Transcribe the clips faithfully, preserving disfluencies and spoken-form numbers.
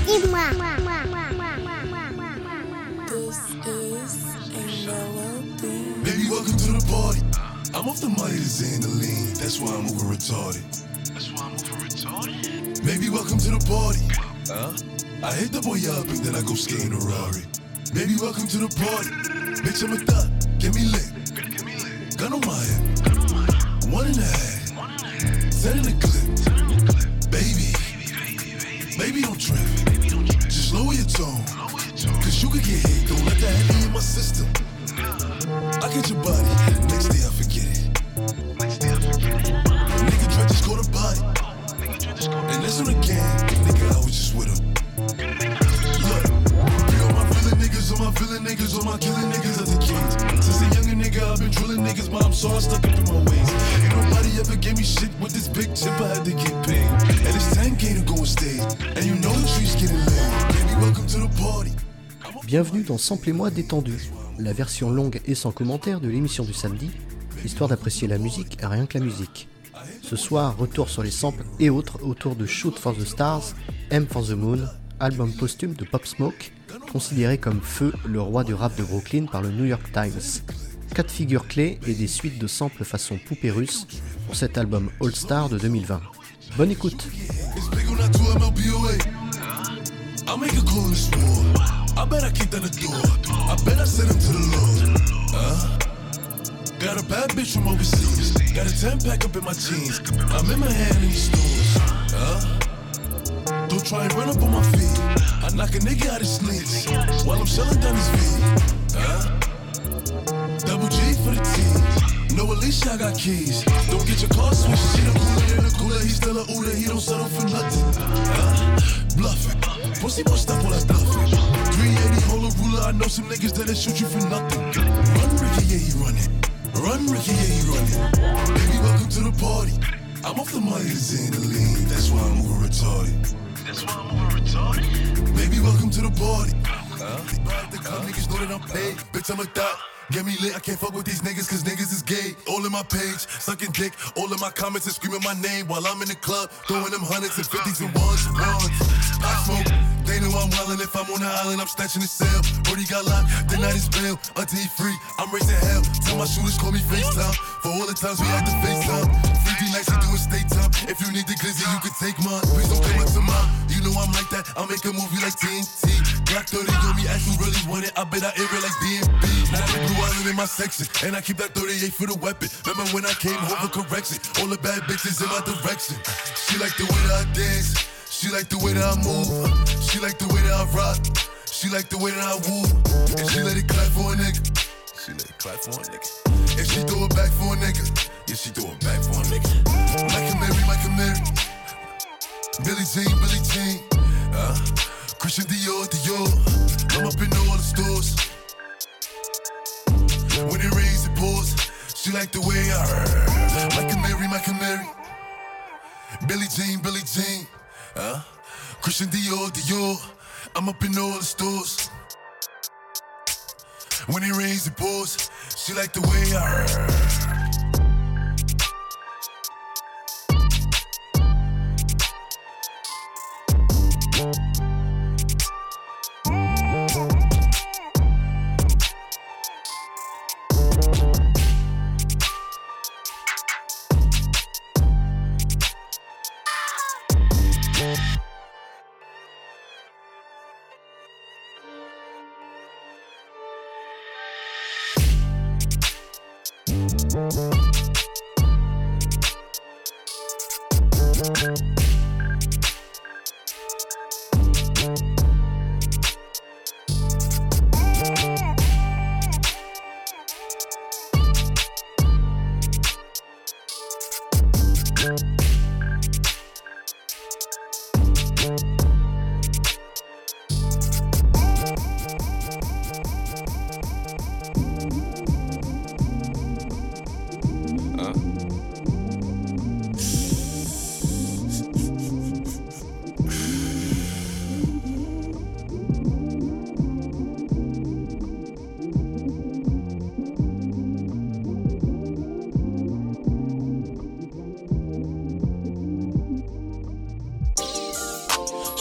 dis-moi. Baby, welcome to the party. I'm off the money to Xandaline. That's why I'm over retarded. That's why I'm over retarded. Baby, welcome to the party. Huh? I hit the boy up and then I go skate in a Rari. Baby, welcome to the party. Bitch, I'm a thot. Get me lit. Gun on my head. One and a half. Ten in the clip. Baby. Baby, don't trip. Just lower your tone. Cause you could get hit. Don't let that heavy in my system. I get your body. Next day I forget it. Nigga try just go to body. And this one again. Nigga, I was just with him. Look, be all my villain niggas, all my villain niggas, all my killing niggas as a kid. Since a younger nigga, I've been drilling niggas, but I'm so stuck up in my ways. Ain't nobody ever gave me shit with this big chip, I had to get paid. And it's ten K to go on stage. And you know the trees getting laid. Baby, welcome to the party. Bienvenue dans Samplez-moi détendu, la version longue et sans commentaire de l'émission du samedi, histoire d'apprécier la musique et rien que la musique. Ce soir, retour sur les samples et autres autour de Shoot for the Stars, M for the Moon, album posthume de Pop Smoke, considéré comme feu le roi du rap de Brooklyn par le New York Times. Quatre figures clés et des suites de samples façon poupée russe pour cet album All Star de deux mille vingt. Bonne écoute. I'll make a call this war. I bet I kicked down the door. I bet I sent him to the Lord. Uh, got a bad bitch from overseas. Got a ten pack up in my jeans. I'm in my hand in these stores. Uh, don't try and run up on my feet. I knock a nigga out his sneaks while I'm shelling down his feet. Uh, double G for the team. No, Alicia, I got keys. Don't get your car switched. She the cooler in the cooler. He's still a Uda. He don't settle for nothing. Uh, bluffing. Pussy won't stop all that bluffing. three eighty, hold a ruler. I know some niggas that'll shoot you for nothing. Run, Ricky, yeah, he running. Run, Ricky, yeah, he running. Baby, welcome to the party. I'm off the money to Xandaline. That's why I'm over retarded. That's why I'm over retarded. Baby, welcome to the party. Huh? The club niggas know that I'm paid. Bitch, I'm a thot. Get me lit, I can't fuck with these niggas cause niggas is gay. All in my page, sucking dick. All in my comments and screaming my name while I'm in the club, throwing them hundreds and fifties and ones and ones. I smoke, they know I'm wildin'. If I'm on the island, I'm snatching the cell. Brody got locked, the night is bail. Until he free, I'm raising hell. Tell my shooters call me FaceTime. For all the times we had to FaceTime. Free D nights, we doing state time. If you need the glizzy, you can take mine. Please don't come up to mine. You know I'm like that, I'll make a movie like T N T. Black thirty on me, ask who really want it. I bet I air it like D M B. Now the blue island in my section, and I keep that thirty-eight for the weapon. Remember when I came home for correction? All the bad bitches in my direction. She like the way that I dance. She like the way that I move. She like the way that I rock. She like the way that I woo. And she let it clap for a nigga. She let it clap for a nigga. And she throw it back for a nigga. Yeah, she throw it back for a nigga. Michael Mary, Michael Mary. Billie Jean, Billie Jean. Uh, Christian Dior, Dior. I'm up in all the stores. When it rains, it pours. She like the way I heard. Michael Mary, Michael Mary. Billie Jean, Billie Jean. Uh, Christian Dior, Dior. I'm up in all the stores. When it rains, it pours. She like the way I heard.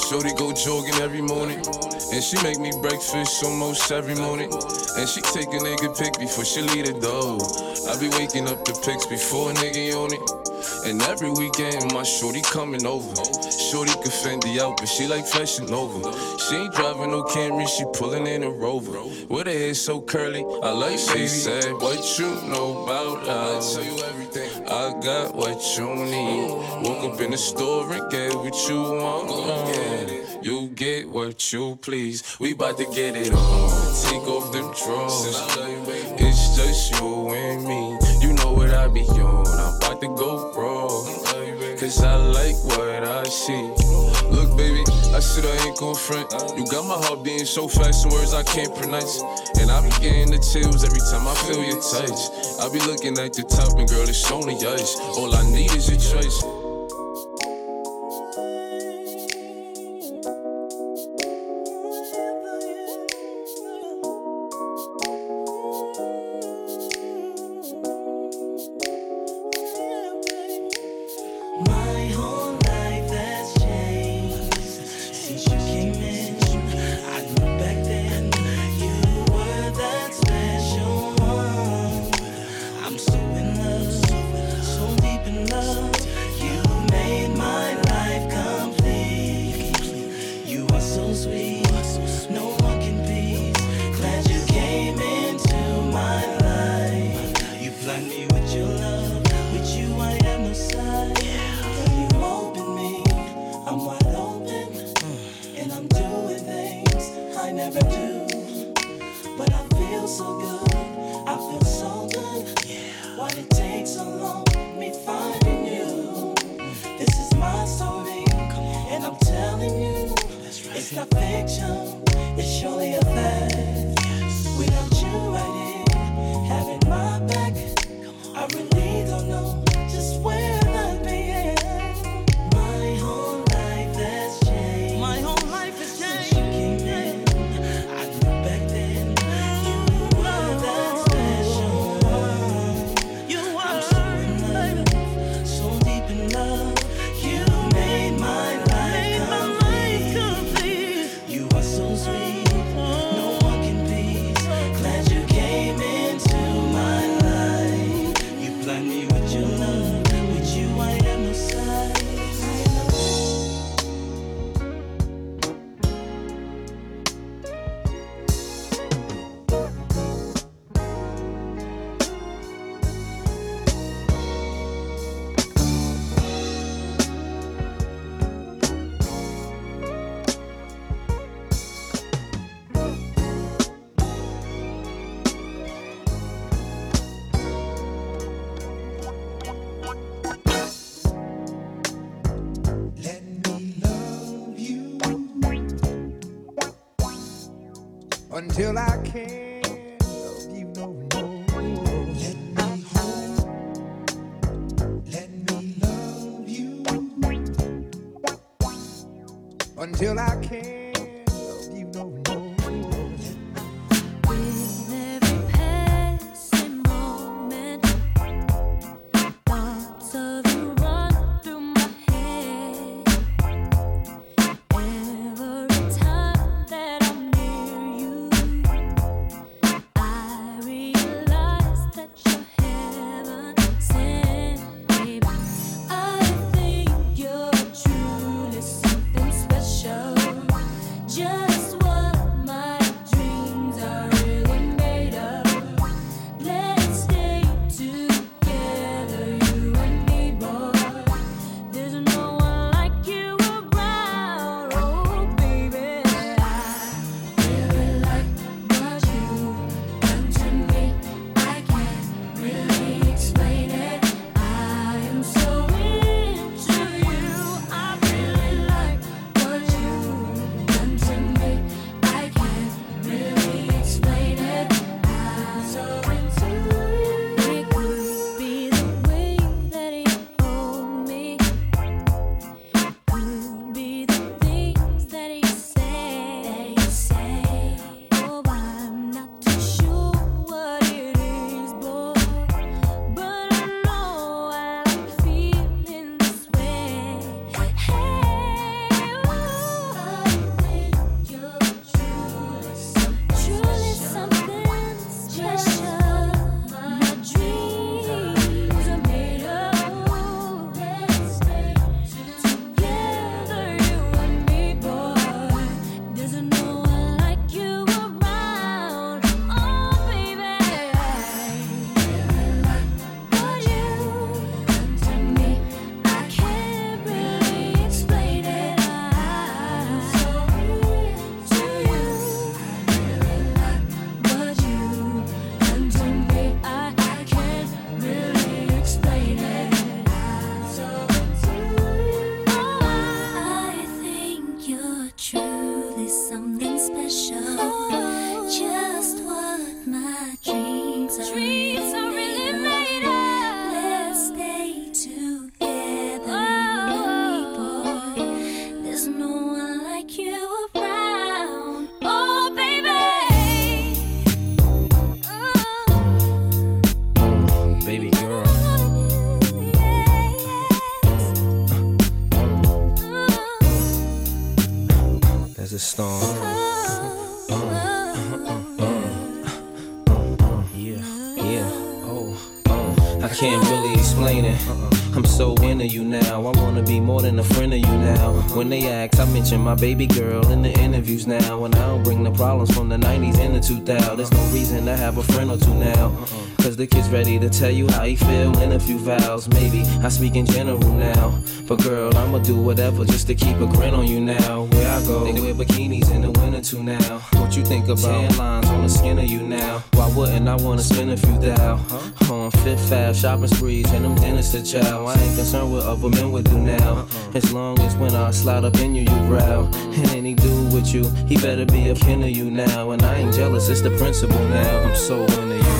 Shorty go jogging every morning, and she make me breakfast almost every morning. And she take a nigga pic before she leave the door. I be waking up the pics before a nigga on it. And every weekend my shorty coming over. Shorty can Fendi out, but she like fashion over. She ain't driving no Camry, she pulling in a Rover. With her hair so curly, I like she said, what you know about us? I tell you everything. I got what you need. Woke up in the store and get what you want. Uh, you get what you please. We bout to get it on. Take off them drawers. It's just you and me. You know what I be on. I'm about to go raw. Cause I like what I see. Look, baby, I said I ain't gon' front. You got my heart beating so fast, some words I can't pronounce. And I be getting the chills every time I feel your touch. I be looking at the top and girl, it's only us. All I need is your choice. Until I can't love you no more. Let me hold, let me love you. Until I can't love you no more. With every passing moment, thoughts of you run through my head. Every time that I'm near you, I realize that you're heaven sent, baby. I think you're truly something special. something special. Just what my dreams are. Dreams are really made of. Let's stay together, oh, boy. There's no one like you around. Oh, baby. Oh. Baby girl. There's a storm. Yeah, yeah, oh, oh. I can't really explain it. I'm so into you now. I wanna be more than a friend of you now. When they ask, I mention my baby girl in the interviews now. And I don't bring the problems from the nineties and the two thousands. There's no reason to have a friend or two now. Cause the kid's ready to tell you how he feel in a few vows. Maybe I speak in general now. But girl, I'ma do whatever just to keep a grin on you now. Where I go, they wear bikinis in the winter too now. What you think about tan lines on the skin of you now? Why wouldn't I wanna spend a few thou? On Fifth Ave, shopping sprees, and them dinners to chow. I ain't concerned what other men would do now. As long as when I slide up in you, you growl. And any dude with you, he better be a kin of you now. And I ain't jealous, it's the principle now. I'm so into you.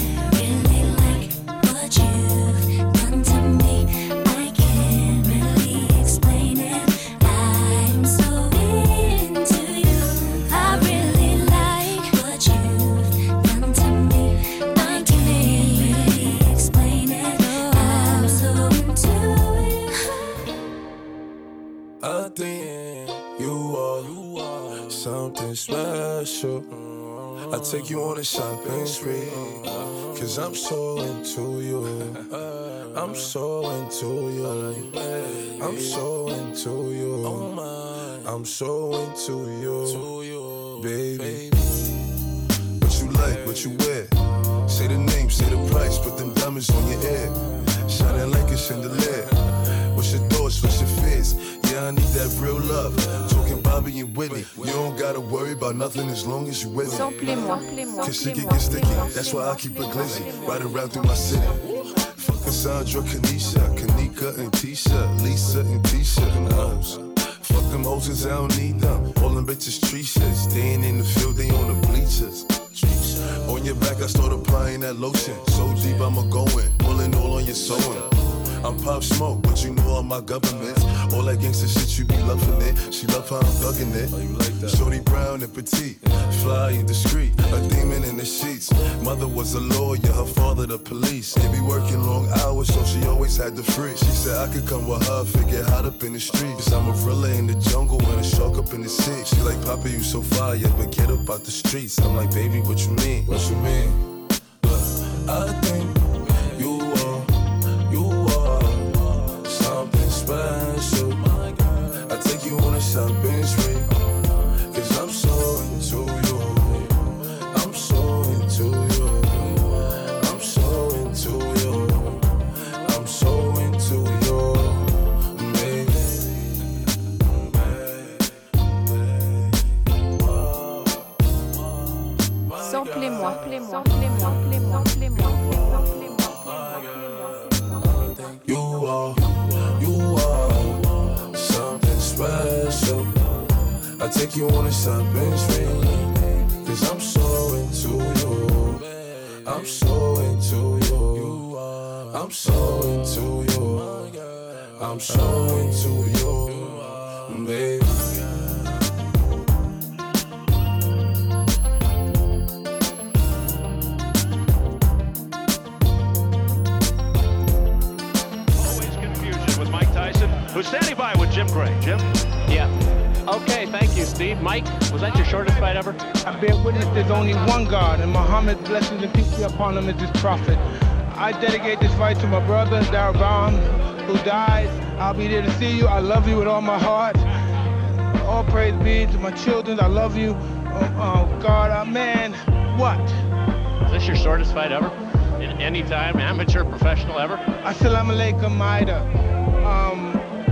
I think you are something special. I take you on a shopping spree, cause I'm so into you. I'm so into you. I'm so into you. I'm so into you, baby. What you like, what you wear? Say the name, say the price, put them diamonds on your ear. Shining like a chandelier. What's your thoughts, what's your fears? Yeah, I need that real love. Talking Bobby and Whitney. You don't gotta worry about nothing as long as you with me. Samplez-moi, Cause she can get sticky. That's why I keep it glizzy. Riding around through my city. Fuck Cassandra, Kanisha, Kanika and Tisha, Lisa and Tisha and hoes. Fuck them hoes cause I don't need them. All them bitches tree shit. Staying in the field, they on the bleachers. On your back, I start applying that lotion. So deep, I'ma go in. Pulling all on your sewing. I'm Pop Smoke, but you know all my governments. All that gangsta shit, you be loving it. She love how I'm thugging it. Oh, you like that? Shorty brown and petite, fly and discreet, a demon in the sheets. Mother was a lawyer, her father the police. They be working long hours, so she always had the free. She said I could come with her, figure hot up in the streets. I'm a thriller in the jungle and a shark up in the sea. She like, Papa, you so fire, but get up out the streets. I'm like, baby, what you mean? What you mean? Look, I think you are, you are something special. I take you on a shopping spree, cause I'm so into you. I'm so into you. I'm so into you. I'm so into you, baby. Samplez-moi, samplez-moi, samplez-moi, samplez-moi, samplez-moi, samplez-moi. You are, you are something special. I take you on a shopping spree, cause I'm so into you. I'm so into you. I'm so into you. I'm so into you, baby. Who's standing by with Jim Gray. Jim? Yeah. Okay, thank you, Steve. Mike, was that your shortest fight ever? I bear witness there's only one God, and Muhammad, blessings and peace be upon him, is his prophet. I dedicate this fight to my brother, Darabam, who died. I'll be there to see you. I love you with all my heart. All praise be to my children. I love you. Oh, oh God, oh, man, what? Is this your shortest fight ever? In any time, amateur, professional ever? Assalamu alaikum, Maida. Um,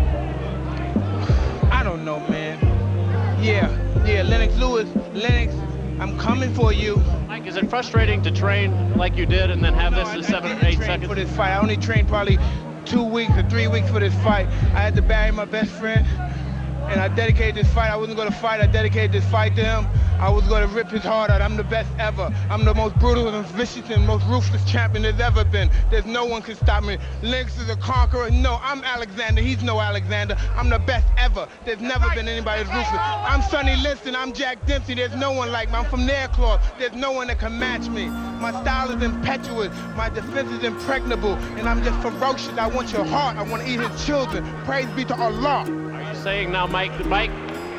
I don't know, man. Yeah, yeah, Lennox Lewis, Lennox, I'm coming for you. Mike, is it frustrating to train like you did and then have No, this I- in I seven or didn't eight train seconds? for this fight. I only trained probably two weeks or three weeks for this fight. I had to bury my best friend. and I dedicated this fight. I wasn't gonna fight, I dedicated this fight to him. I was gonna rip his heart out. I'm the best ever. I'm the most brutal and vicious and most ruthless champion there's ever been. There's no one can stop me. Lynx is a conqueror. No, I'm Alexander. He's no Alexander. I'm the best ever. There's never been anybody as ruthless. I'm Sonny Liston. I'm Jack Dempsey. There's no one like me. I'm from Nairclaw. There's no one that can match me. My style is impetuous. My defense is impregnable. And I'm just ferocious. I want your heart. I want to eat his children. Praise be to Allah. Are you saying now, Mike, Mike?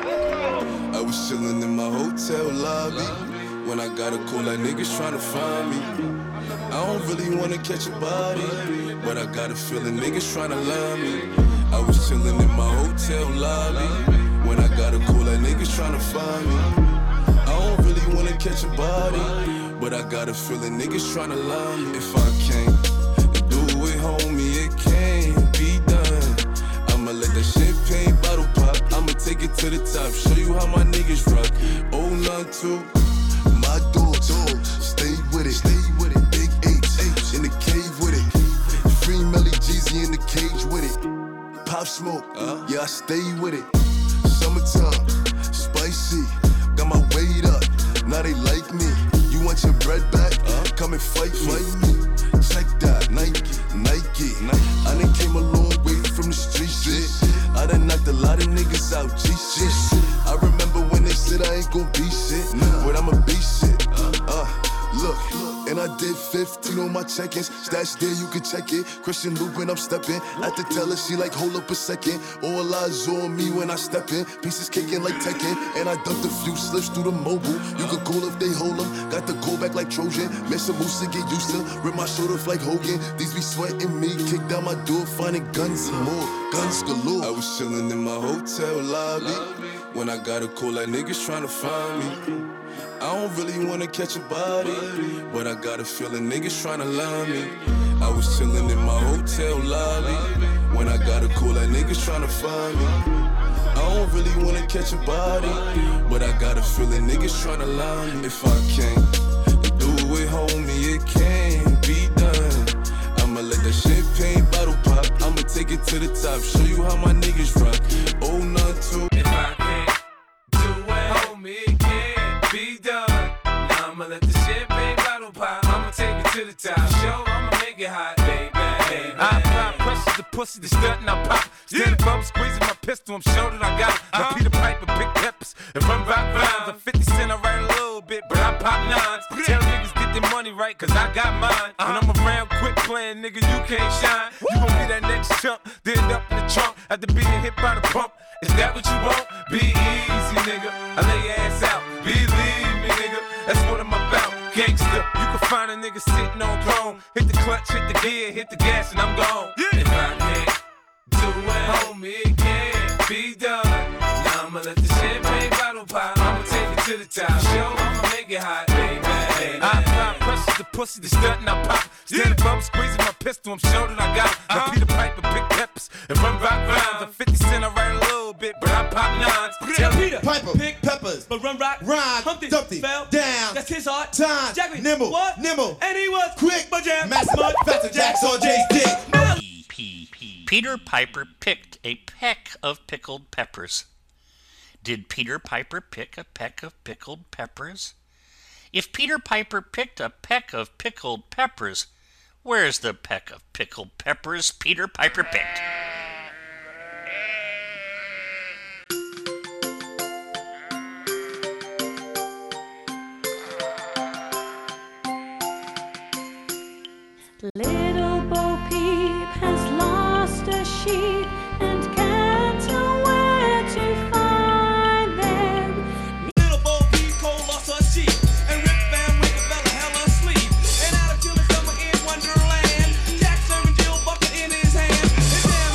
I was chillin' in my hotel lobby when I got a call like niggas tryna find me. I don't really wanna catch a body, but I got a feeling niggas tryna line me. I was chillin' in my hotel lobby when I got a call like niggas tryna find me. I don't really wanna catch a body, but I got a feeling niggas tryna line me. If I can't do it, homie, it can't be done. I'ma let that champagne bottle pop. I'ma take it to the top, show you how my niggas rock. Oh, none two, my dogs, stay with it, stay with it. Big apes, apes in the cave with it. Free Melly Jeezy in the cage with it. Pop Smoke, uh, yeah, I stay with it. Summertime, spicy, got my weight up. Now they like me. You want your bread back? Uh, come and fight, fight me. Check that, Nike, Nike. I done came a long way from the street shit. I done knocked a lot of niggas out, G shit. I remember when they said I ain't gon' be shit, but I'ma be shit. Uh, look, and I did fifteen on my check-ins. Stash there, you can check it. Christian Lupin, I'm stepping. At the teller, she like, hold up a second. All eyes on me when I step in. Pieces kicking like Tekken. And I dumped a few slips through the mobile. You could call if they hold them. Got the call back like Trojan. Miss a moose to get used to. Rip my shoulder like Hogan. These be sweating me. Kick down my door, finding guns and more. Guns galore. I was chillin' in my hotel lobby when I got a call like niggas tryna find me. I don't really wanna catch a body, but I got a feeling niggas tryna line me. I was chillin' in my hotel lobby when I got a call like niggas tryna find me. I don't really wanna catch a body, but I got a feeling niggas tryna line me. If I can't do it, homie, it can't be done. I'ma let that champagne bottle pop. I'ma take it to the top, show you how my niggas rock. Oh, none two. If I can't do it, homie, it can't be done. Now I'ma let the champagne bottle pop. I'ma take it to the top, show I'ma make it hot, baby. baby. I apply pressure to pussy, the stunt and I pop. Standing yeah. up, squeezing my pistol, I'm sure that I got it. Uh-huh. I Peter Piper, big peppers, and run rock rhymes. I'm fifty cent, I write a little bit, but I pop nines. Tell niggas get their money right, cause I got mine. Uh-huh. When I'm around quick playing, nigga, you can't shine. You gon' be that next chump, then up in the trunk, after being hit by the pump. Is that what you want? Be easy, nigga. I lay your ass out. Believe me, nigga. That's what I'm about. Gangsta. You can find a nigga sitting on throne. Hit the clutch, hit the gear, hit the gas, and I'm gone. Yeah. If I can't do it, homie, it can't be done. Now I'ma let the champagne bottle pop. I'ma take it to the top. Show I'ma make it hot, baby. baby. I apply pressure to pussy, the stunt and I pop. Standing up, squeezing my pistol, I'm sure that I got it. Uh-huh. I Peter Piper, big peppers, and run rock rhymes. I'm fifty cent, I write a little bit, but I pop nines. Tell Peter Piper, pick peppers, but run rock rhyme. Humpty, Dumpty, fell down. That's his heart. Time, Jackie, nimble, what? Nimble, and he was quick, but jam. Mass mud, faster jacks on Jay's dick. P P Peter Piper picked a peck of pickled peppers. Did Peter Piper pick a peck of pickled peppers? If Peter Piper picked a peck of pickled peppers, where's the peck of pickled peppers Peter Piper picked? Little Bo Peep has lost a sheep and can't tell where to find them. Little Bo Peep Cole lost her sheep, and Rip Van Winkle fell hell asleep. And out of chilling summer in Wonderland, Jack serving Jill bucket in his hand. His damn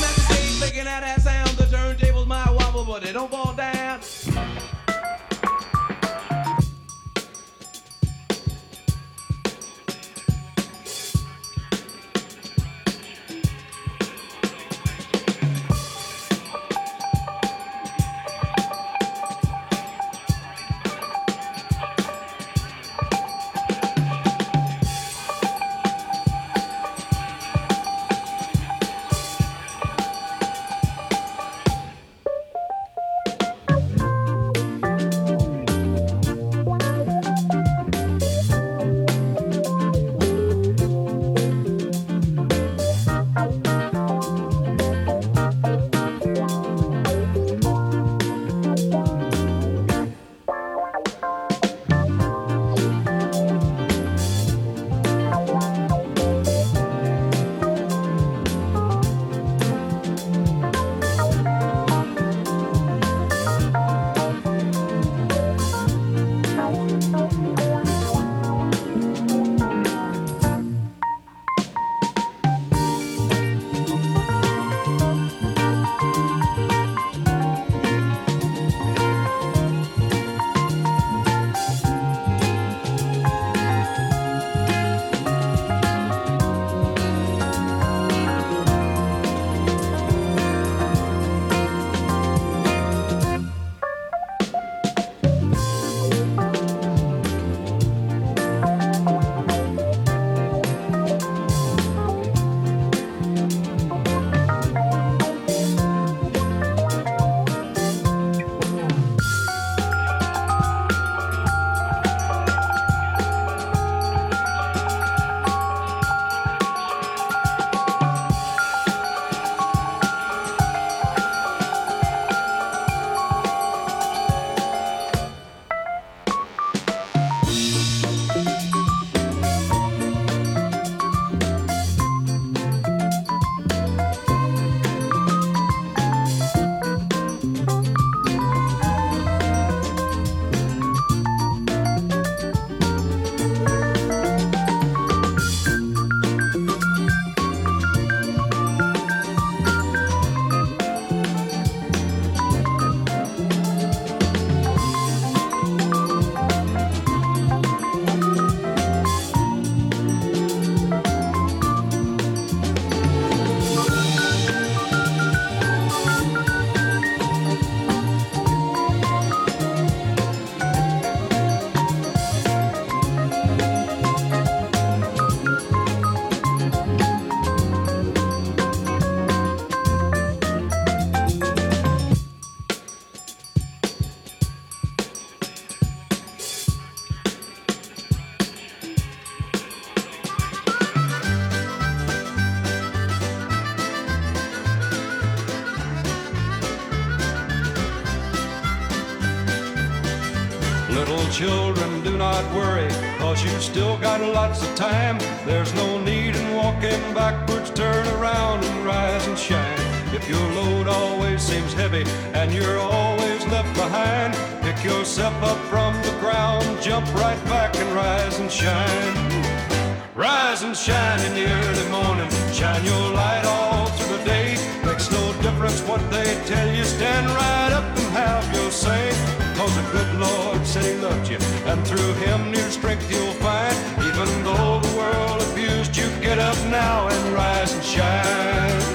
Little children, do not worry, cause you still got lots of time. There's no need in walking backwards, turn around and rise and shine. If your load always seems heavy and you're always left behind, pick yourself up from the ground, jump right back and rise and shine. Rise and shine in the early morning, shine your light all through the day. Makes no difference what they tell you, stand right up and have your say. Cause the good Lord said he loved you, and through him new strength you'll find. Even though the world abused you, get up now and rise and shine.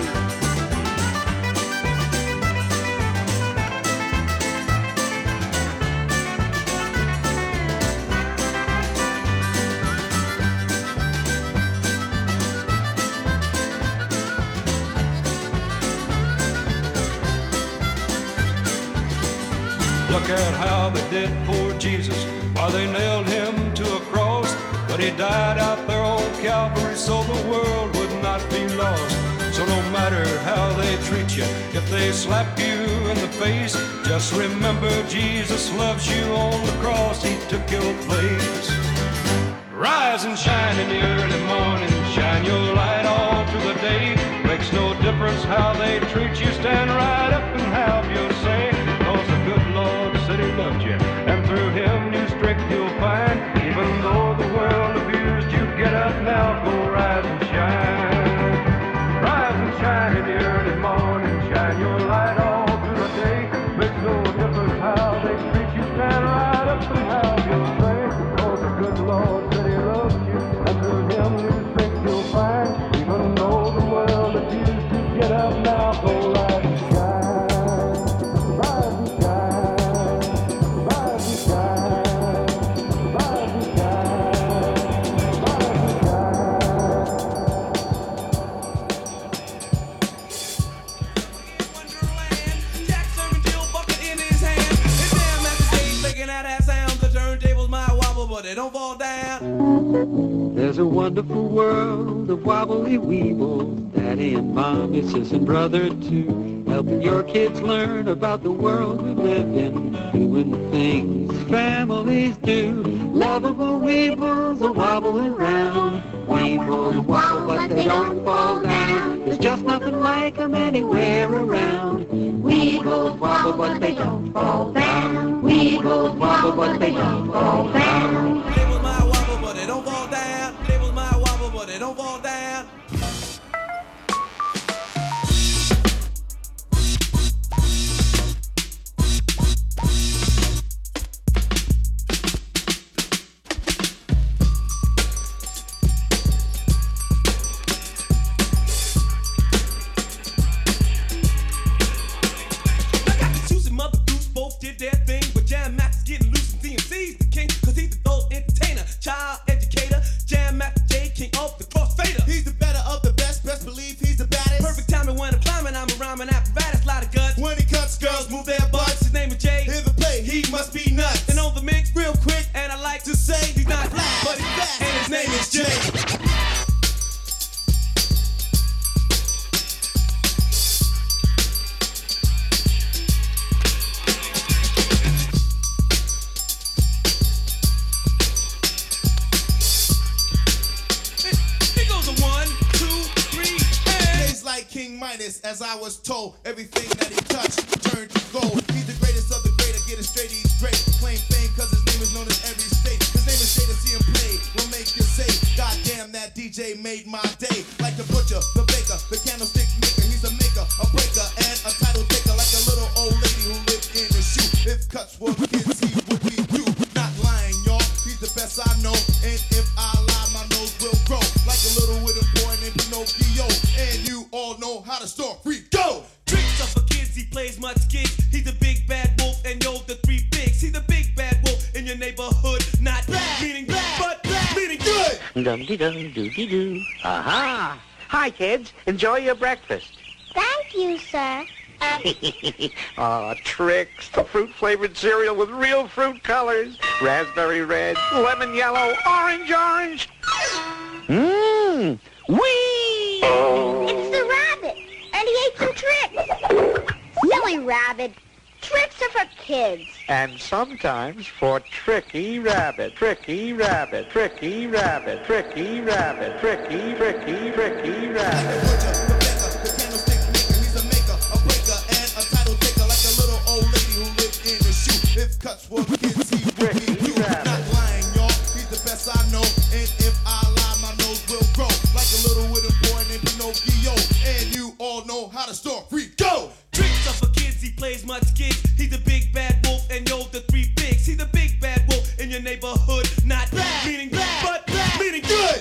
Look at how they did poor Jesus while they nailed him to a cross. But he died out there on Calvary so the world would not be lost. So no matter how they treat you, if they slap you in the face, just remember Jesus loves you on the cross, he took your place. Rise and shine in the early morning, shine your light all through the day. Makes no difference how they treat you, stand right up and have your say. Cause the good Lord said he loved you, and through him new strength you'll find. Even though the world abused you, get up now, go rise and shine. Rise and shine in the early morning, shine your light all through the day. Makes no difference how they treat you, stand right up and have your say. Cause the good Lord said he loved you, and through him new strength you'll find. Even though the world abused you, get up now, go rise and shine. They don't fall down. There's a wonderful world of wobbly weebles, Daddy and Mommy, sis and brother too, helping your kids learn about the world we live in, doing things families do. Lovable weebles are wobbling round. Weebles wobble but they don't fall down. There's just nothing like them anywhere around. Weebles wobble but they don't fall down. Weebles wobble but they don't fall down. They was my wobble but they don't fall down. They was my wobble but they don't fall down. As I was told, everything that he touched turned to gold. He's the greatest of the great, I get it straight, he's great. Claim fame cause his name is known in every state. His name is Jay, to see him play will make you say, God damn, that D J made my day. Like the butcher, the baker, the candlestick maker. He's a maker, a breaker, and a title taker. Like a little old lady who lived in a shoe. If cuts were kids, he would be you. Not lying, y'all, he's the best I know. And if I lie, my nose will grow. Like a little wooden boy named Pinocchio. And you all know how to store free. Go! Tricks up for kids, he plays much kids. He's the big bad wolf, and yo, the three pigs. He's the big bad wolf in your neighborhood. Not bad, meaning bad, but bad, meaning good. Dum-de-dum-doo-dee-doo. Aha! Hi, kids. Enjoy your breakfast. Thank you, sir. Aw, Trix. The fruit-flavored cereal with real fruit colors. Raspberry red, lemon yellow, orange orange. Mmm! Whee! It's the rabbit, and he ate some Trix. Silly rabbit. Tricks are for kids. And sometimes for Tricky Rabbit. Tricky Rabbit. Tricky Rabbit. Tricky Rabbit. Tricky, Tricky, Tricky Rabbit. If cuts were kids, he would be you. Not lying, y'all. He's the best I know. And if I lie, my nose will grow like a little wooden boy named Pinocchio. And you all know how the story go. Tricks are for kids. He plays much gigs. He's the big bad wolf, and yo, the three bigs. He's the big bad wolf in your neighborhood. Not bad, meaning bad, but bad, meaning good.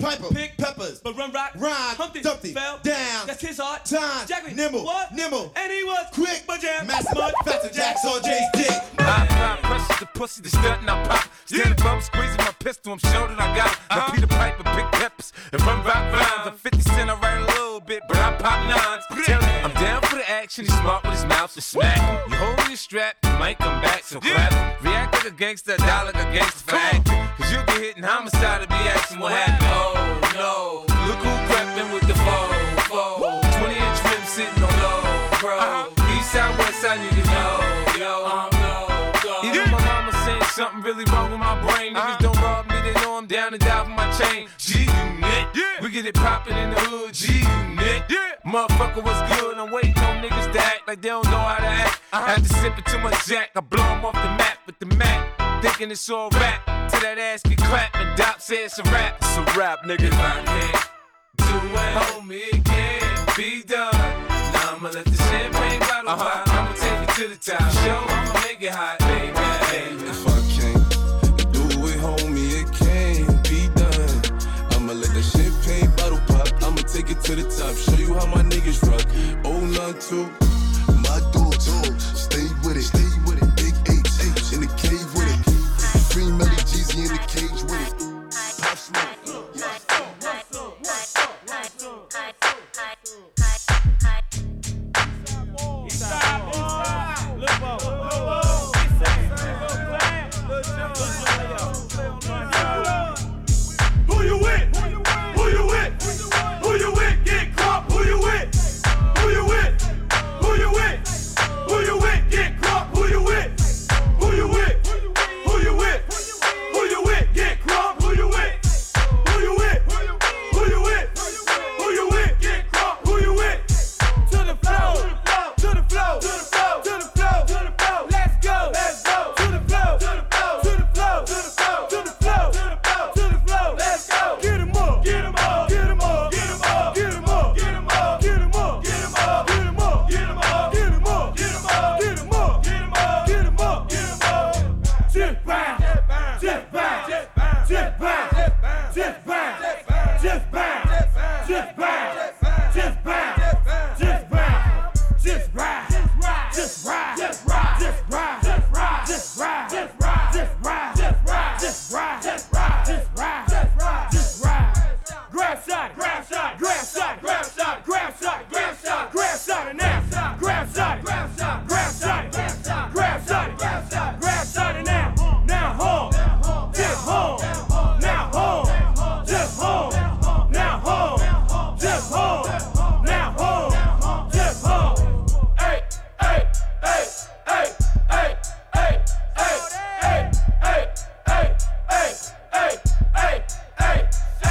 Piper, pick peppers, but run rock, rhyme, Humpty, Dumpty, fell down, that's his heart, time, Jackie, nimble, what? nimble, and he was quick, but jam, mass mud, faster jacks on Jay's dick. I apply pressure to pussy, the stunt and I pop. Stand above, squeezing my pistol, I'm sure that I got it. Now Peter Piper, pick peppers, and run rock rhymes. I'm fifty cent, I write a little bit, but I pop nines. Tell him I'm down for the action, he's smart with his mouth, so smack him. You hold your strap, you might come back, so clap him. React like a gangster, die like a gangster for acting. Cause you get hit in homicide to be asking what happened. Oh no, look who crept with the foe, foe. twenty inch rim sitting on low, bro. East side, west side, niggas know, yo, I'm no, even my mama saying something really wrong with my brain. Niggas don't rob me, they know I'm down and die for my chain. G-Unit, yeah. We get it poppin' in the hood, G-Unit, yeah. Motherfucker, what's good? I'm waiting on niggas to act like they don't know how to act. Uh-huh. I had to sip it too much Jack, I blow 'em off the map with the Mac. Thinking it's all rap, till that ass get clapped and Doc said it's a rap. It's a rap, nigga. If I can't do it, homie, it can't be done. Now I'ma let the champagne bottle uh-huh. pop. I'ma take it to the top. Show, I'ma make it hot, baby. If I can't do it, homie, it can't be done. I'ma let the champagne bottle pop. I'ma take it to the top. Show you how my niggas rock. Oh, none two, my dogs. Stay with it, stay with it. Big H, H in the cave with it. Free Melly Jeezy in the cage with it. Pop smoke. Who you with? Who you with? Who you with? Get crop. Who you with? Who you with? Who you with? Who you with? Get crop. Who you with? Who you with? Who you with? Who you with? Get crop. Who you with? Who you with? Who you with? Who you with? Get crop. Who you with? To the flow, to the flow, to the flow, to the flow, to the flow. Let's go, let's go. To the flow, to the flow, to the flow, to the flow, to the flow, to the flow, to the flow. Let's go. Get 'em up, get 'em up, get 'em up, get 'em up, get 'em up, get 'em up, get 'em up, get 'em up, get 'em up, get 'em up, get 'em up, get 'em up, get 'em up, get 'em up, get 'em up, get 'em up. Just bounce, just bounce, just bounce, just bounce, just bounce, just bounce, just bounce, just bounce, just bounce, just ride, just ride, just ride, just ride, just ride, just ride, just ride, just ride, just ride, just ride, just ride, just ride, just ride, just ride. Grab shot, grab shot, grab shot, grab shot, grab shot, grab shot, grab shot, and now grab shot, grab shot, grab shot, grab shot, grab shot, grab shot, grab shot, and now now home, just home, now home, just home, now home, just home, now home, just home. Hey, hey, hey, hey, hey, hey, hey, hey, hey, hey, hey, hey, hey, hey,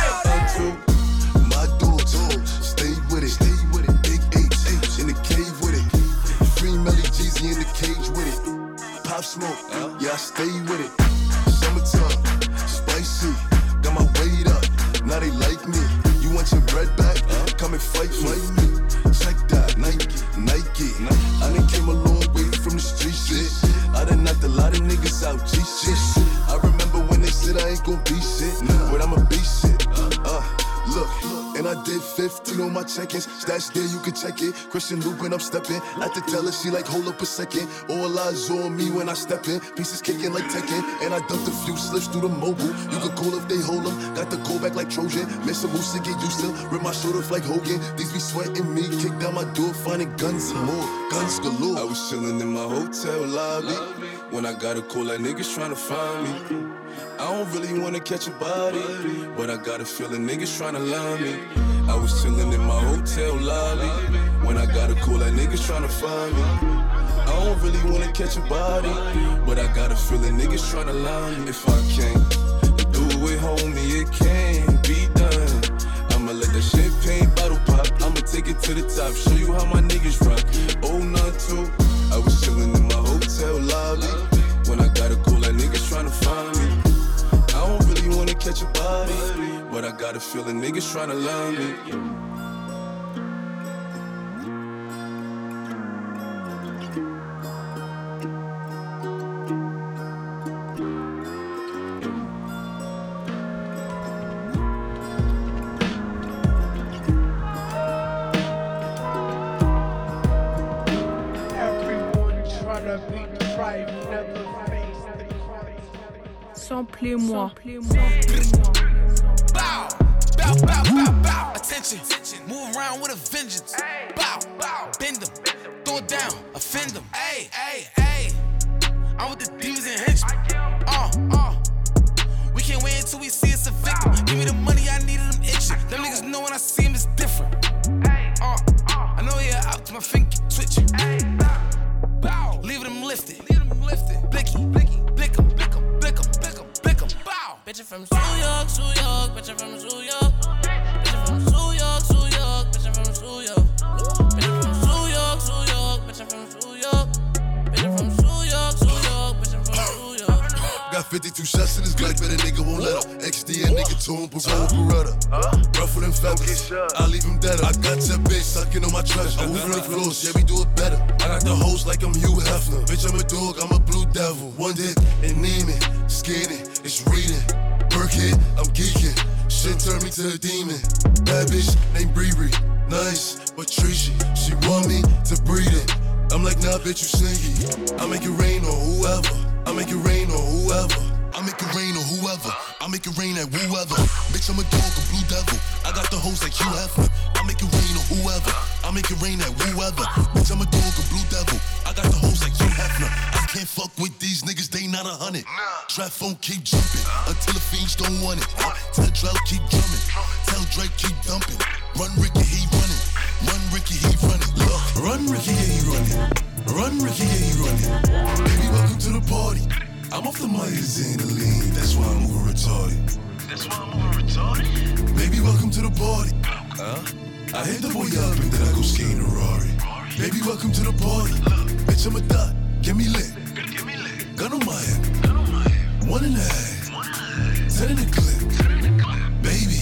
hey. My dogs, stay with it, stay with it. Big H, H in the cave with it. Free Melly Jeezy in the cage with it. Pop smoke, yeah, I stay with it. Summertime, spicy, got my weight up. Now they like me. You want your bread back? Come and fight, fight me. Check that, Nike, Nike. I done came a long way from the street shit. I done knocked a lot of niggas out, G shit. I remember when they said I ain't gon' be shit, but I'ma be shit. Uh, look, and I did fifteen on my check-ins. Stash there, you can check it. Christian Lupin, I'm stepping. At the teller, she like, hold up a second. All eyes on me when I step in. Pieces kicking like Tekken. And I dumped a few slips through the mobile. You can call if they hold them. Got the call back like Trojan. Miss a moose to get used to. Rip my shoulder like Hogan. These be sweating me. Kick down my door, finding guns and more. Guns galore. I was chilling in my hotel lobby. When I got a call, like niggas trying to find me. I don't really wanna catch a body, but I got a feeling niggas tryna line me. I was chillin' in my hotel lobby when I got a call that niggas tryna find me. I don't really wanna catch a body, but I got a feeling niggas tryna line me. If I can't do it, homie, it can't be done. I'ma let the champagne bottle pop. I'ma take it to the top, show you how my niggas rock. Oh, none two, I was chillin' in my hotel lobby when I got a call that niggas tryna find me. I don't really wanna catch a body, but I got a feeling niggas tryna line me. Samplez-moi. Bow, bow, bow, bow, bow. Attention, move around with a vengeance. Bow, bow, bend them, throw it down, offend them. Hey, hey, hey. I'm with the demons and henchmen. Uh, uh. We can't wait until we see it's a victim. Give me the money, I needed them itching. Them niggas know when I see them it's different. Uh, I know you're out to my finger twitching. Bow, leave them lifted. Leave them lifted. Blicky, blicky, blick 'em, blick 'em, blick 'em, blick 'em, blick 'em. Bow. Bitch, I'm from New York, New York. Bitch, I'm from New York. Bitch, I'm from New York, New York. Bitch, I'm from New York. Bitch, I'm from New York, New York. Bitch, I'm from New York. Bitch, I'm from New York, New York. Bitch, I'm from New York. Got fifty-two shots in this Glock, but a nigga won't let up. X D a nigga to him, parole, Beretta. Ruffle them feathers, I leave him dead. I got that bitch sucking on my treasure. I move on the floors, yeah, we do it better. I got the hoes like I'm Hugh Hefner. Bitch, I'm a dog, I'm a blue devil. One dick and Neiman, skinning, it's reading. Burkhead, I'm geeking. Shit turned me to a demon. Bad bitch named Bree, nice but treachy. She want me to breed it. I'm like, nah, bitch, you sneaky. I make it rain on whoever. I make it rain on whoever. I make it rain on whoever. I make it rain at whoever. Bitch, I'm a dog, a blue devil. I got the hoes like Hugh Hefner. I make it rain on whoever. I make it rain at whoever. Bitch, I'm a dog, a blue devil. I got the hoes like Hugh Hefner. I can't fuck with these niggas, they not a hundred. Trap phone keep jumping until the fiends don't want it. Tell Drell keep drumming. Tell Drake keep dumping. Run Ricky, he running. Run Ricky, he running. Look, run Ricky, yeah, he running. Run Ricky, yeah, he running. Baby, welcome to the party. I'm off the Myers and the lean, that's why I'm moving retarded. That's why I'm moving retarded? Baby, welcome to the party. Huh? I hit the boy up and then I go skating a Rari. Baby, welcome to the party. Bitch, I'm a dot, get me lit. Gun on my head. One and a half. Ten in the clip. Baby.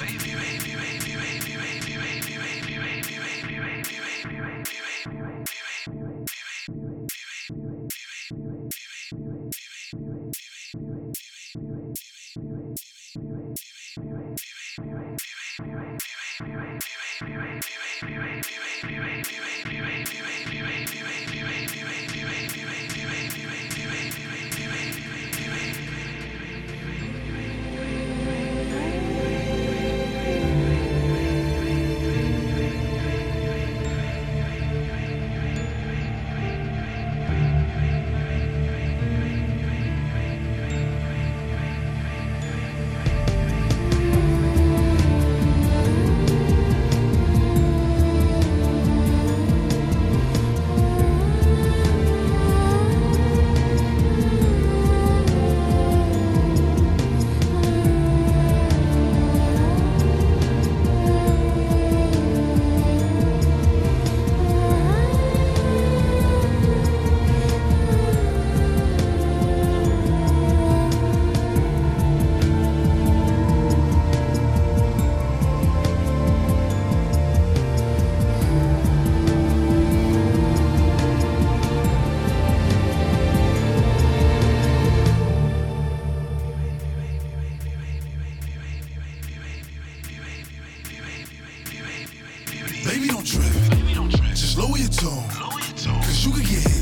Baby, don't trip. Just lower your tone. Cause you could get hit.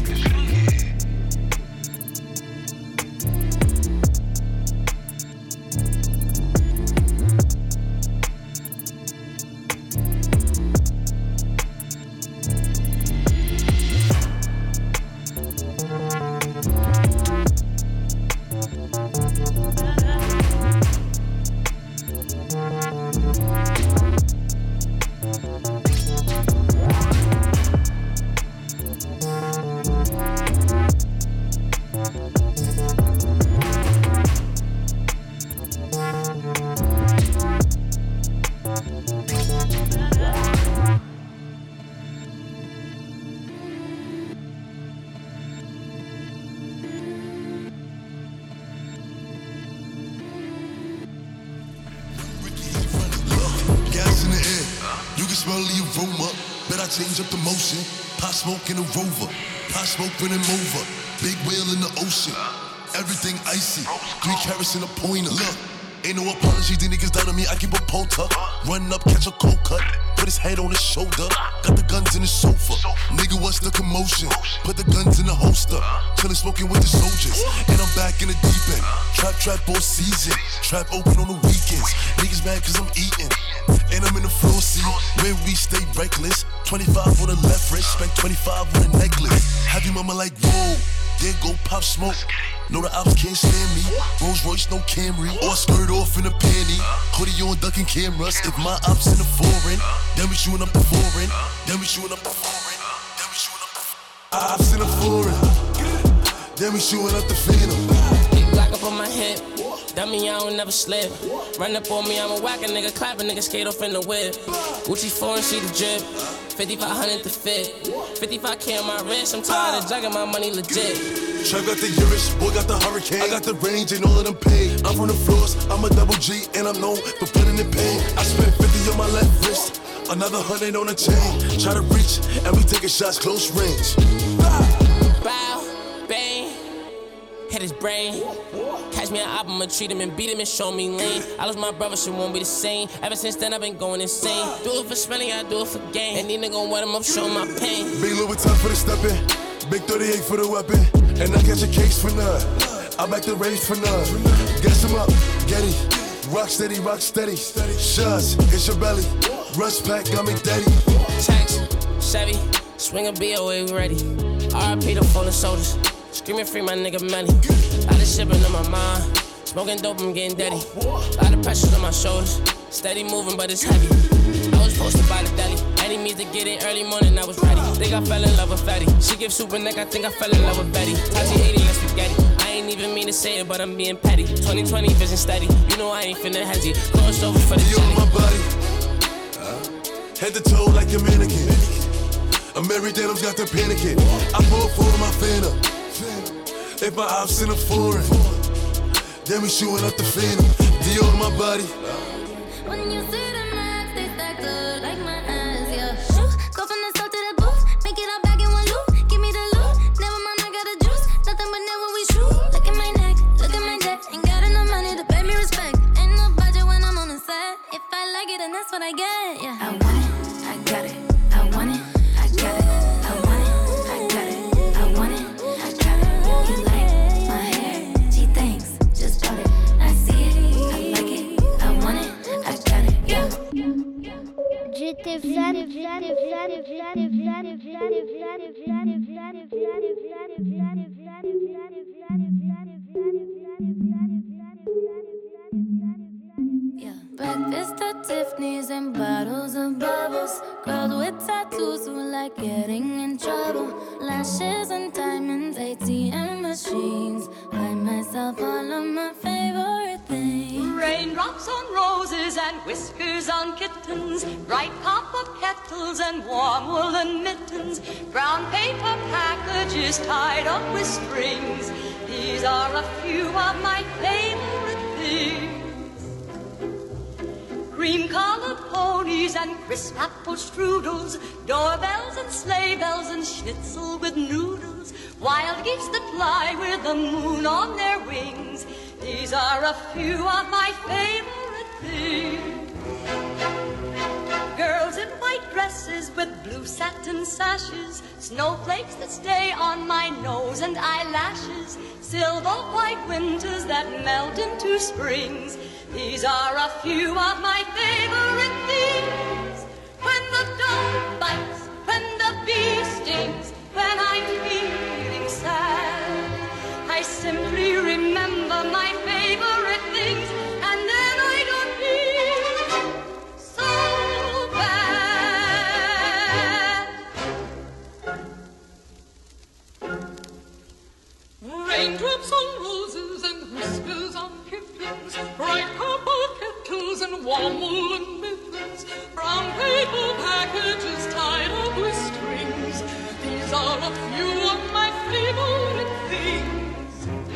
Change up the motion, pot smoke in a Rover, pot smoke running over, big whale in the ocean, everything icy, three carats in a pointer. Look, ain't no apology, these niggas down on me, I keep a pole tuck, run up, catch a cold cut, put his head on his shoulder. Got the guns in the sofa. Nigga, what's the commotion? Put the guns in the holster. Chillin' smoking with the soldiers. And I'm back in the deep end. Trap, trap all season. Trap open on the weekends. Niggas mad cause I'm eating. And I'm in the floor seat. Where we stay reckless. twenty-five on the left wrist. Spent twenty-five on a necklace. Have your mama like, whoa. Then go pop smoke. No, the ops can't stand me. Rolls Royce, no Camry. Or skirt off in a panty. Hoodie on, ducking cameras. If my ops in the foreign, then we shooting up the foreign. Then we shooting up the foreign. Then we shooting up the foreign. Ops in the foreign. Then we shooting up the phantom. Big block up on my hip. Dummy, I don't never slip. Run up on me, I'm a whack a nigga. Clap a nigga, skate off in the whip. Gucci foreign, see the drip. fifty-five hundred to fit. fifty-five K on my wrist. I'm tired of jugging my money legit. Trap got the Urus, boy got the hurricane. I got the range and all of them paid. I'm from the floors, I'm a double G and I'm known for putting in pain. I spent fifty on my left wrist, another hundred on the chain. Try to reach and we taking shots close range. Bow, bang, hit his brain. Catch me an album, I'ma treat him and beat him and show me lean. I lost my brother, shit won't be the same. Ever since then, I've been going insane. Do it for spelling, I do it for game. And these niggas gon' wet him up, show my pain. Big Louis time for the stepping, big thirty-eight for the weapon. And I catch a case for none. I back the rage for none. Guess him up, Getty. Rock steady, rock steady. Shots, it's your belly. Rush pack, got me daddy. Tax, Chevy, swing a B O A, we ready. R I P the fallen soldiers. Screaming free my nigga money. Lot of shipping on my mind. Smoking dope, I'm getting dirty. Lot of pressure on my shoulders. Steady moving, but it's heavy. I was posted by the deli. Any means to get it early morning, I was ready. Think I fell in love with Fetty. She gives super neck, I think I fell in love with Betty. Tati eighty, let's spaghetti. I ain't even mean to say it, but I'm being petty. twenty twenty vision steady. You know I ain't finna hesitate. Cross over for the you on my body. Head to toe like a mannequin. I'm Mary Denim's got the panicking. I pull for my phantom. If my ops in the foreign, then we shooting up the phantom. D on my body. When you see the max, they stack up like my eyes, yeah. Shoot, go from the start to the booth, make it all back in one loop. Give me the loot, never mind, I got the juice. Nothing but never we shoot. Look at my neck, look at my debt. Ain't got enough money to pay me respect. Ain't no budget when I'm on the set. If I like it, then that's what I get, yeah. I want it, I got it. I want it, I got it. I want it, I got it. I want it, I got it. You like my hair? Gee, thanks, just bought it. I see it, I like it. I want it, I got it, yeah. J'étais fan, fan, fan, fan, fan, fan, fan, Breakfast at Tiffany's and bottles of bubbles. Girls with tattoos who like getting in trouble. Lashes and diamonds, A T M machines. Buy myself all of my favorite things. Raindrops on roses and whiskers on kittens. Bright copper kettles and warm woolen mittens. Brown paper packages tied up with strings. These are a few of my favorite things. Cream-colored ponies and crisp apple strudels, doorbells and sleigh bells and schnitzel with noodles, wild geese that fly with the moon on their wings. These are a few of my favorite things. Girls in white dresses with blue satin sashes, snowflakes that stay on my nose and eyelashes, silver white winters that melt into springs. These are a few of my favorite things. When the dog bites, when the bee stings, when I'm feeling sad, I simply remember my favorite things, and then I don't feel so bad. Raindrops on roses and whiskers on kittens, bright copper kettles and warm woolen mittens, brown paper packages tied up with strings. These are a few of my favorite things.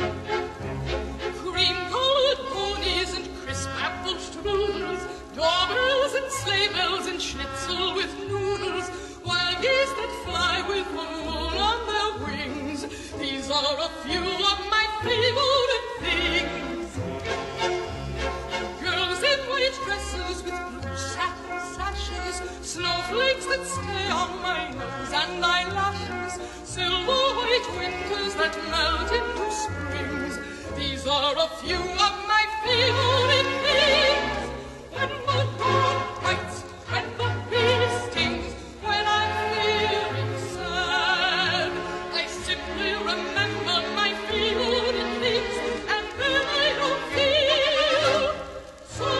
Cream-colored ponies and crisp apple strudels, doorbells and sleigh bells and schnitzel with noodles, wild geese that fly with the moon on their wings. These are a few of my favorite things. Girls in white dresses winters with blue satin sashes, snowflakes that stay on my nose and eyelashes, silver white winters that melt into springs. These are a few of my favorite things. When the dawn bites, when the bee stings, when I'm feeling sad, I simply remember my favorite things, and then I don't feel so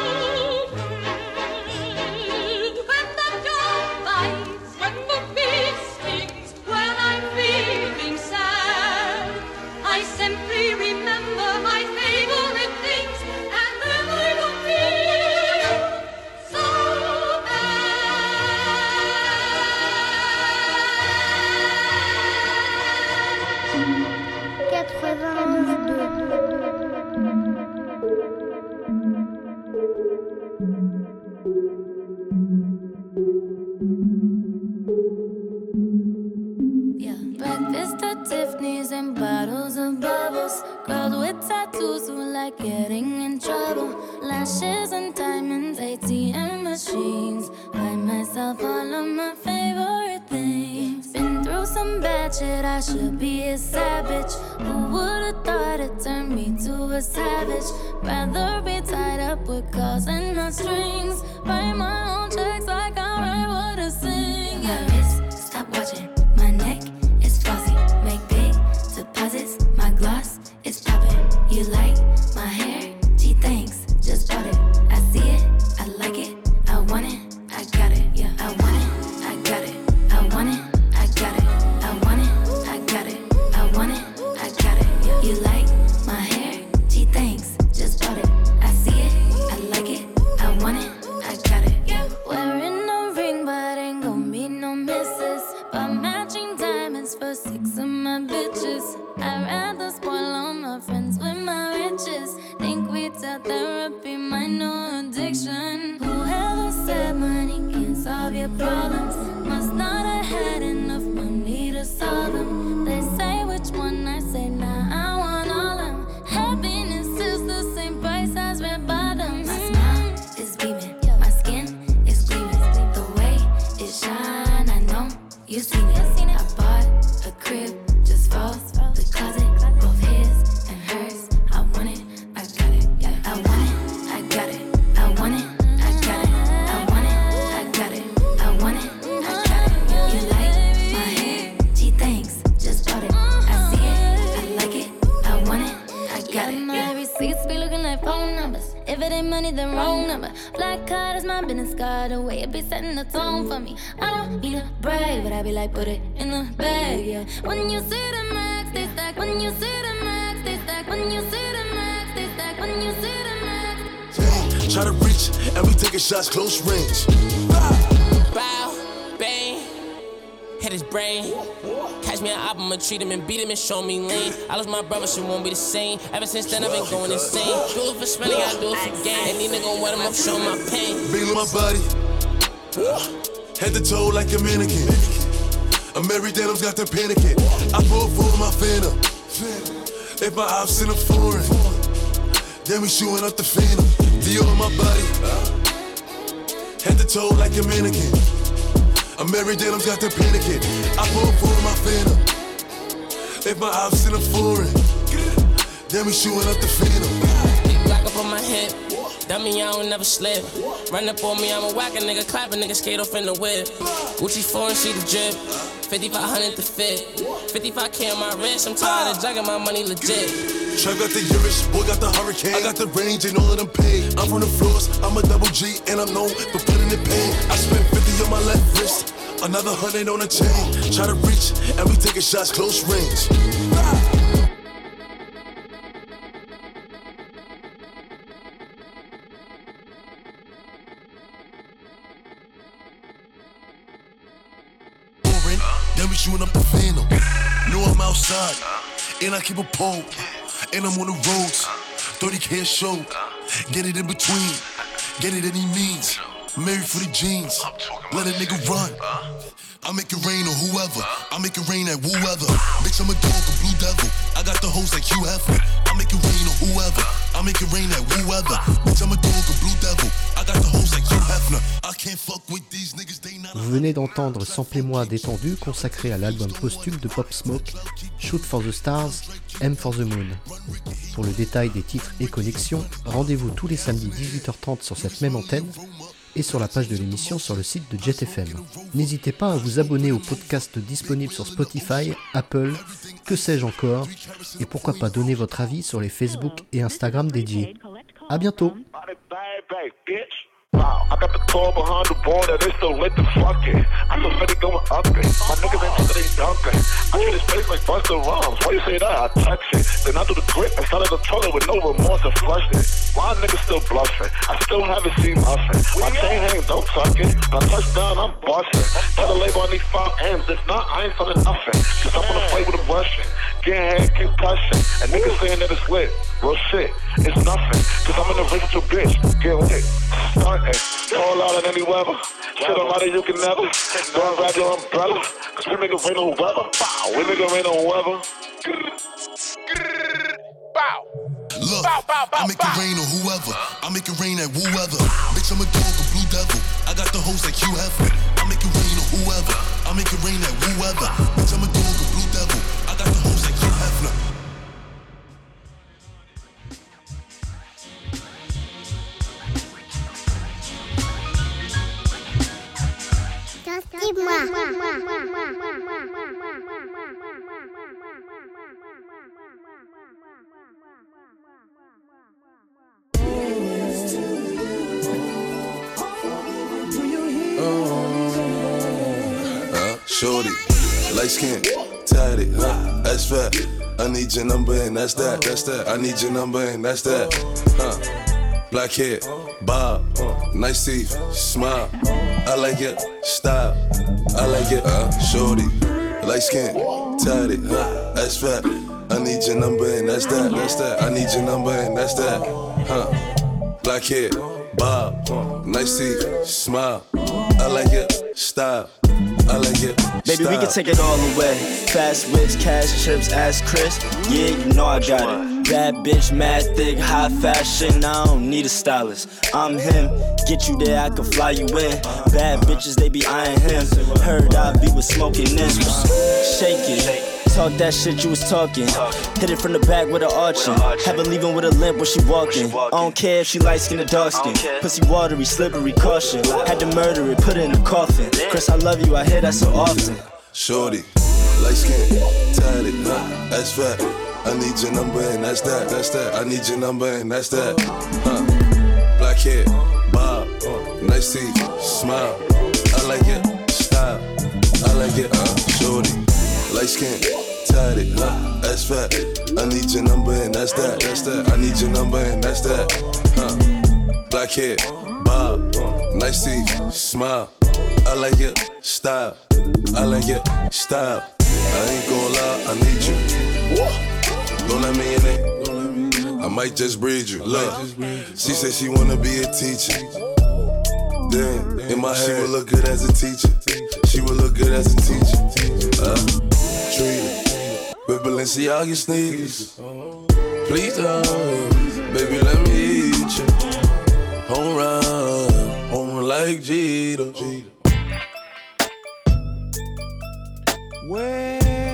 bad. When the dawn bites, when the bee stings, when I'm feeling sad, I simply remember my favorite things, and then I don't feel so quatre-vingt-onze deux. Breakfast at Tiffany's and bottles of bubbles. Girls with tattoos who like getting in trouble. Lashes and diamonds, A T M machines. Buy myself all of my favorite things. Been through some bad shit, I should be a savage. Who would've thought it turned me to a savage? Rather be tied up with calls and not strings. Write my own checks like I write what I sing. My wrist, stop watching. My neck is flossy. Make big deposits. My gloss is popping. You like my hair? Gee, thanks. Just bought it. I see it. I like it. I want it. I got it. Yeah, I want it. I got it. I want it. I got it. I want it. I got it. I want it. I got it. Yeah. You like my hair? Gee, thanks. Just bought it. I see it. I like it. I want it. I got it. Yeah. Wearing no ring, but ain't gon' be no misses. But matching diamonds for six of my bitches. I'd rather spoil all my friends with my riches. Think retail therapy, my new addiction. Whoever said money can solve your problems must not have had enough money to solve them. They say which one, I say nah, I want all them. Happiness is the same price as red bottoms. My smile is beaming, my skin is gleaming. The way it shine, I know you seen it. I bought a crib just for the closet, both his and hers. I want it, I got it. Yeah, I want it, I got it. I want it, I got it. I want it, I got it. I want it, I got it. You like my hair? Gee, thanks. Just bought it. I see it, I like it. I want it, I got it. My receipts be looking like phone numbers. If it ain't money, then wrong number. Black card is my business card. The way it be setting the tone for me. I don't need a brag, but I be like, put it in the bag, yeah. When you see the max, they stack. When you see the max, they stack. When you see the max, they stack. When you see the max. Hey, try to reach, and we taking shots close range. Bow, bang, hit his brain. Catch me an album, I'ma treat him and beat him and show me lean. I lost my brother, she won't be the same. Ever since then, I've been going insane. Do it for spending, I do it for gain. And these niggas wet him up, show my pain. Feel my body, head to toe like a mannequin. I'm married, denims got them panicking. I pull for my phantom. If my ops in a foreign, then we shooting up the phantom. Dior on my body, head to toe like a mannequin. I'm married, denims got them panicking. I pull for my phantom. If my ops in a foreign, then we shooting up the phantom. Big block up on my hip. Dummy, I don't never slip. Run up on me, I'm a whack a nigga, clap a nigga, skate off in the whip. Gucci foreign, she the drip. fifty-five hundred to fit. fifty-five K on my wrist, I'm tired of jugging my money legit. Trap got the Irish, boy got the hurricane. I got the range and all of them paid. I'm from the floors, I'm a double G, and I'm known for putting in pain. I spent fifty on my left wrist, another hundred on the chain. Try to reach, and we taking shots close range. Then we shooting up the phantom. Know I'm outside, and I keep a pole. And I'm on the roads, thirty K a show. Get it in between, get it any means. Married for the jeans, let a nigga run. I make it rain on whoever, I make it rain at whoever. Bitch, I'm a dog, a blue devil. I got the hoes like Hugh Hefner. I make it rain on whoever, I I make it rain at whoever. Bitch, I'm a dog, a blue devil. I got the hoes like Hugh Hefner. I can't fuck with these niggas, they not. Vous venez d'entendre Samplez-moi détendu consacré à l'album posthume de Pop Smoke, Shoot for the Stars, Aim for the Moon. Pour le détail des titres et connexions, rendez-vous tous les samedis dix-huit heures trente sur cette même antenne et sur la page de l'émission sur le site de Jet F M. N'hésitez pas à vous abonner au podcast disponible sur Spotify, Apple, que sais-je encore, et pourquoi pas donner votre avis sur les Facebook et Instagram dédiés. À bientôt. Wow, I got the car behind the border, they still lit the fucking. I feel funny going up it. My niggas ain't talking, they dumping. I treat this place like Busta Rhymes. Why you say that? I touch it. Then I do the grip inside of the toilet with no remorse and flush it. Why niggas still bluffing? I still haven't seen nothing. My chain hang, don't tuck it. When I touch down, I'm busting. Tell the label I need five M's. If not, I ain't selling nothing. Cause I wanna fight with a Russian. Getting head concussion. And niggas saying that it's lit. Real shit, it's nothing. Cause I'm an original bitch. Get lit. Starting. Fall out in any weather. Shit on out of you can never. Don't grab your umbrella. Cause we make it rain on weather. Bow. We make it rain on weather. Bow. Look, bow, bow, bow, I make bow. It rain on whoever. I make it rain at whoever. Bitch, I'm a dog, a blue devil. I got the hoes like Hugh Hefner. I make it rain on whoever. I make it rain at whoever. Bitch, I'm a dog, a blue devil. I got the hoes like Hugh Hefner. Shorty, light skin, tatted, huh? That's fat. I need your number and that's that, that's that. I need your number and that's that, huh? Black hair, bob, nice teeth, smile. I like it, style. I like it, uh, shorty, light skin, tatted, huh? That's fat. I need your number and that's that, that's that. I need your number and that's that, huh? Black hair, bob, nice teeth, smile. I like it, style. I like it. Baby, we can take it all away. Fast whips, cash trips, ask Chris. Yeah, you know I got it. Bad bitch, mad thick, high fashion. I don't need a stylist. I'm him. Get you there, I can fly you in. Bad bitches, they be eyeing him. Heard I be with smoking this. Shake it. Talk that shit you was talking. Hit it from the back with an arching. Have her leaving with a limp when she walking. I don't care if she light skin or dark skin. Pussy watery, slippery, caution. Had to murder it, put it in a coffin. Chris, I love you, I hear that so often. Shorty, light skin, tatted, huh? That's fat. I need your number and that's that, that's that. I need your number and that's that, huh? Black hair, bob, nice teeth, smile. I like it, style. I like it, uh, shorty. Light skin, tatted, huh? That's fat. I need your number and that's that, that's that. I need your number and that's that, huh? Black hair, bob, nice teeth, smile. I like it, style. I like it, style. I ain't gon' lie, I need you. Don't let me in it. I might just breed you. Look, she said she wanna be a teacher. Then in my head, she would look good as a teacher. She would look good as a teacher. Uh, treat her with Balenciaga sneakers. Please don't, baby, let me eat you. Home run, home run like Jeter. Well,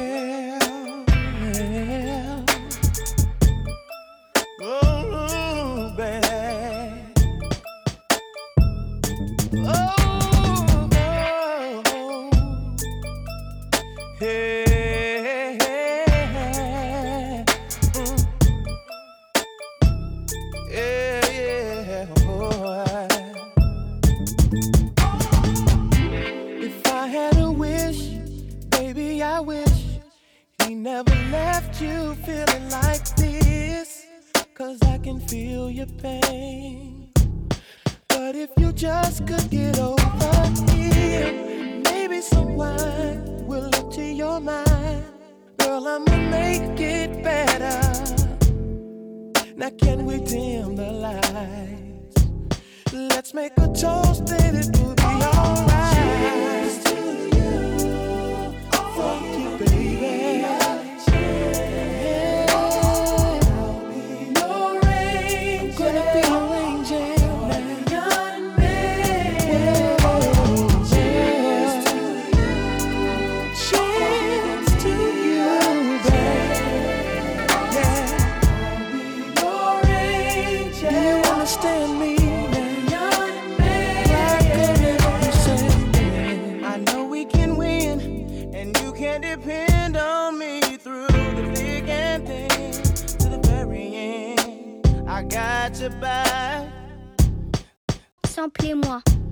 well, oh, baby. Oh, oh, hey, hey, mm. Yeah, yeah, boy. If I had a wish, baby, I wish he never left you feeling like this. Cause I can feel your pain. But if you just could get over here, maybe someone will look to your mind. Girl, I'ma make it better. Now can we dim the lights? Let's make a toast that it will be alright. Cheers to you, fuck you, baby. Yeah, I'll be your rain. samplez-moi.